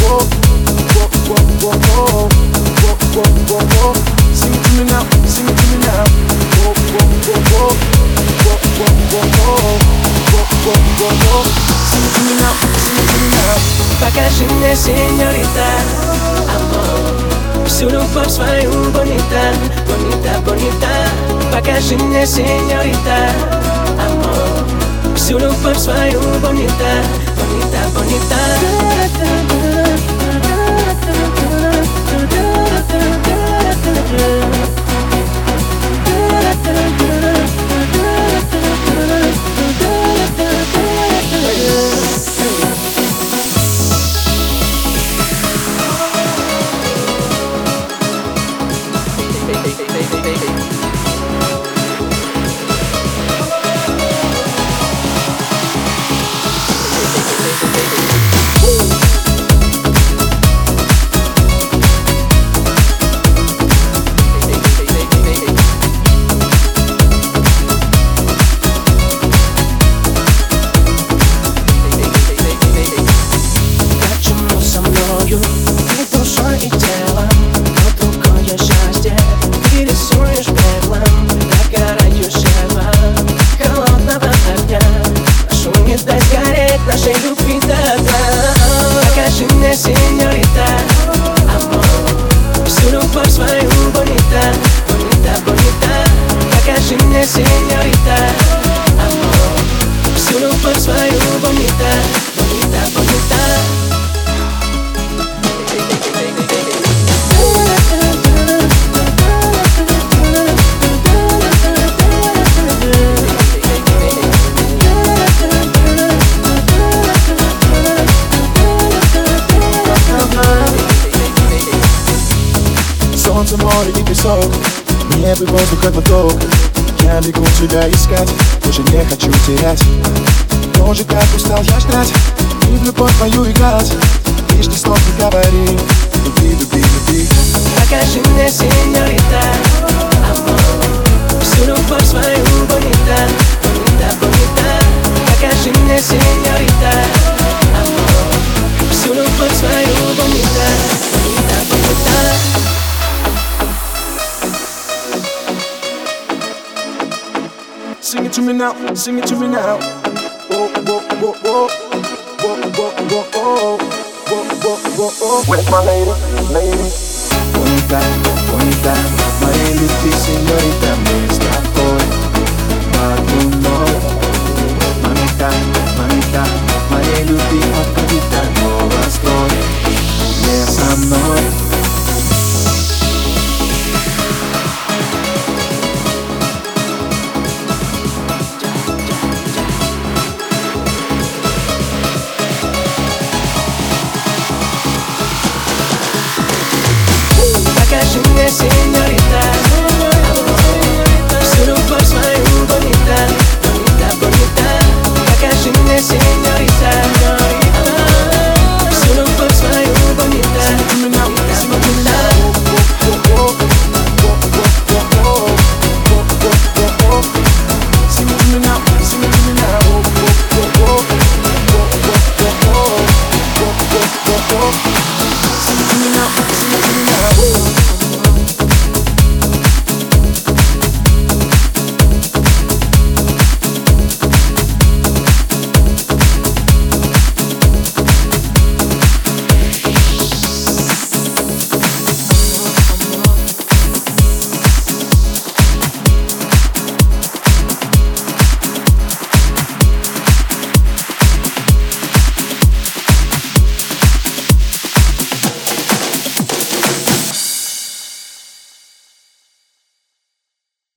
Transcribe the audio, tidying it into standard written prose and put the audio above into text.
Sing it to me now, sing it to me now. Sing it to me now, sing it to me now. Покажи мне, сеньорита, amor, всю любовь свою, bonita, bonita, bonita. Покажи мне, сеньорита, amor, всю любовь свою, bonita, bonita, bonita. Ты душой и телом, но другое счастье ты рисуешь пеплом догорающего холодного огня. Прошу, не дай сгореть нашей любви до дна. Покажи мне, сеньорита, amor, всю любовь свою, bonita, bonita, bonita. Покажи мне, сеньорита, amor, всю любовь свою, bonita, bonita, bonita. Солнце, море и песок, небо и воздух как поток. Я бегу тебя искать, уже не хочу терять. Тоже как устал я ждать и в любовь твою играть. Лишь ни слов не говори, люби, люби, люби. Покажи мне, сеньорита, amor, всю любовь свою, bonita, bonita, bonita. Покажи мне, сеньорита, amor, всю любовь свою, bonita, bonita, bonita. Sing it to me now, sing it to me now. Oh, oh, oh, oh, oh, oh, oh, oh, oh, oh, oh. Where's my lady, lady? Bonita, bonita, моей любви, señorita, мы с тобой в одну. Mamita, mamita, моей любви, отходит от восторг. Не со мной. Покажи мне, сеньорита, amor, всю любовь свою, bonita, bonita, bonita. Покажи мне, сеньорита,